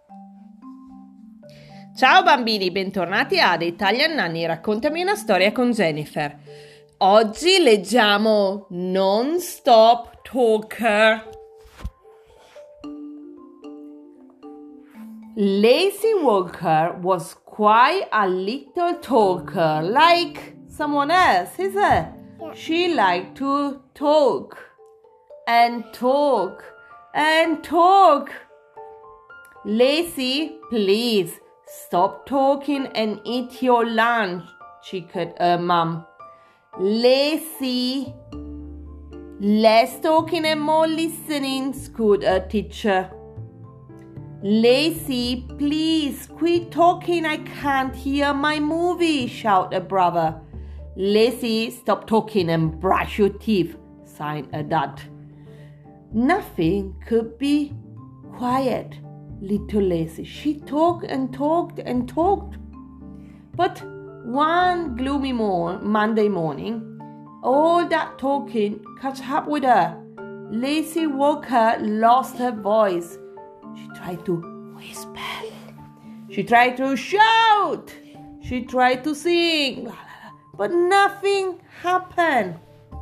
Ciao bambini, bentornati ad Italian Nanny, raccontami una storia con Jennifer. Oggi leggiamo Non-Stop Talker. Lazy Walker was quite a little talker, like someone else, is it? Yeah. She liked to talk and talk and talk. Lazy, please stop talking and eat your lunch, chickened her mum. Lazy, less talking and more listening, scolded her teacher. Lazy, please quit talking, I can't hear my movie, shouted her brother. Lazy, stop talking and brush your teeth, sighed her dad. Nothing could be quiet, little Lazy. She talked and talked and talked. But one gloomy Monday morning, all that talking caught up with her. Lazy Walker lost her voice. She tried to whisper. She tried to shout. She tried to sing. But nothing happened.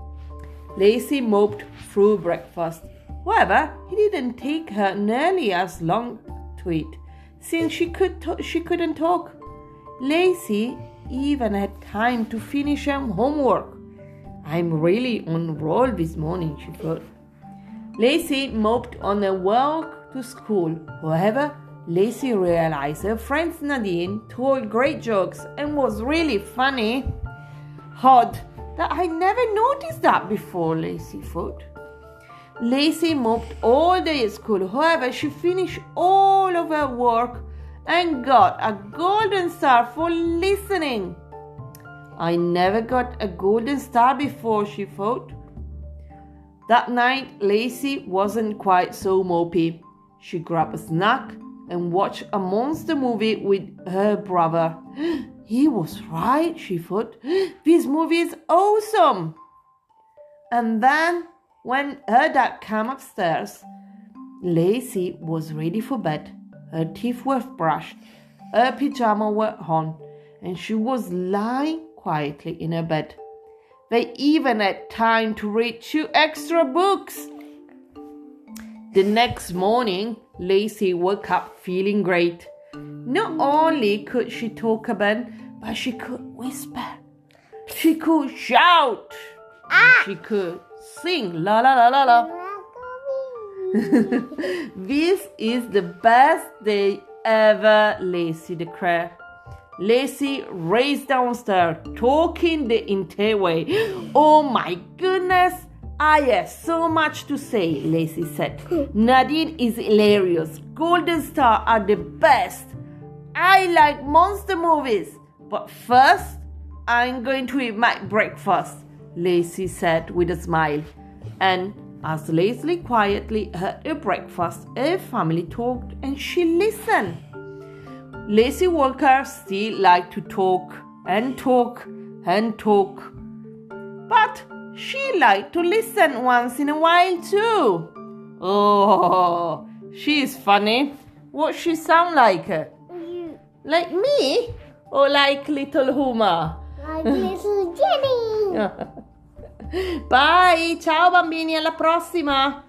Lazy moped through breakfast. However, it didn't take her nearly as long to eat, since she couldn't talk. Lazy even had time to finish her homework. I'm really on roll this morning, she thought. Lazy moped on her walk to school. However, Lazy realized her friend Nadine told great jokes and was really funny. Odd that I never noticed that before, Lazy thought. Lazy moped all day at school. However, she finished all of her work and got a golden star for listening. I never got a golden star before, she thought. That night, Lazy wasn't quite so mopey. She grabbed a snack and watched a monster movie with her brother. He was right, she thought. This movie is awesome. And then, when her dad came upstairs, Lazy was ready for bed. Her teeth were brushed, her pajamas were on, and she was lying quietly in her bed. They even had time to read 2 extra books. The next morning, Lazy woke up feeling great. Not only could she talk again, but she could whisper. She could shout. She could sing la la la la la. This is the best day ever, Lazy declared. Lazy raced downstairs, talking the entire way. Oh my goodness, I have so much to say, Lazy said. Nadine is hilarious. Golden Star are the best. I like monster movies. But first, I'm going to eat my breakfast, Lazy said with a smile. And as Lazy quietly ate her breakfast, her family talked and she listened. Lazy Walker still liked to talk and talk and talk. But she liked to listen once in a while too. Oh, she's funny. What she sound like? Like me? Or like little Huma? Like little Jenny. Bye, ciao bambini, alla prossima!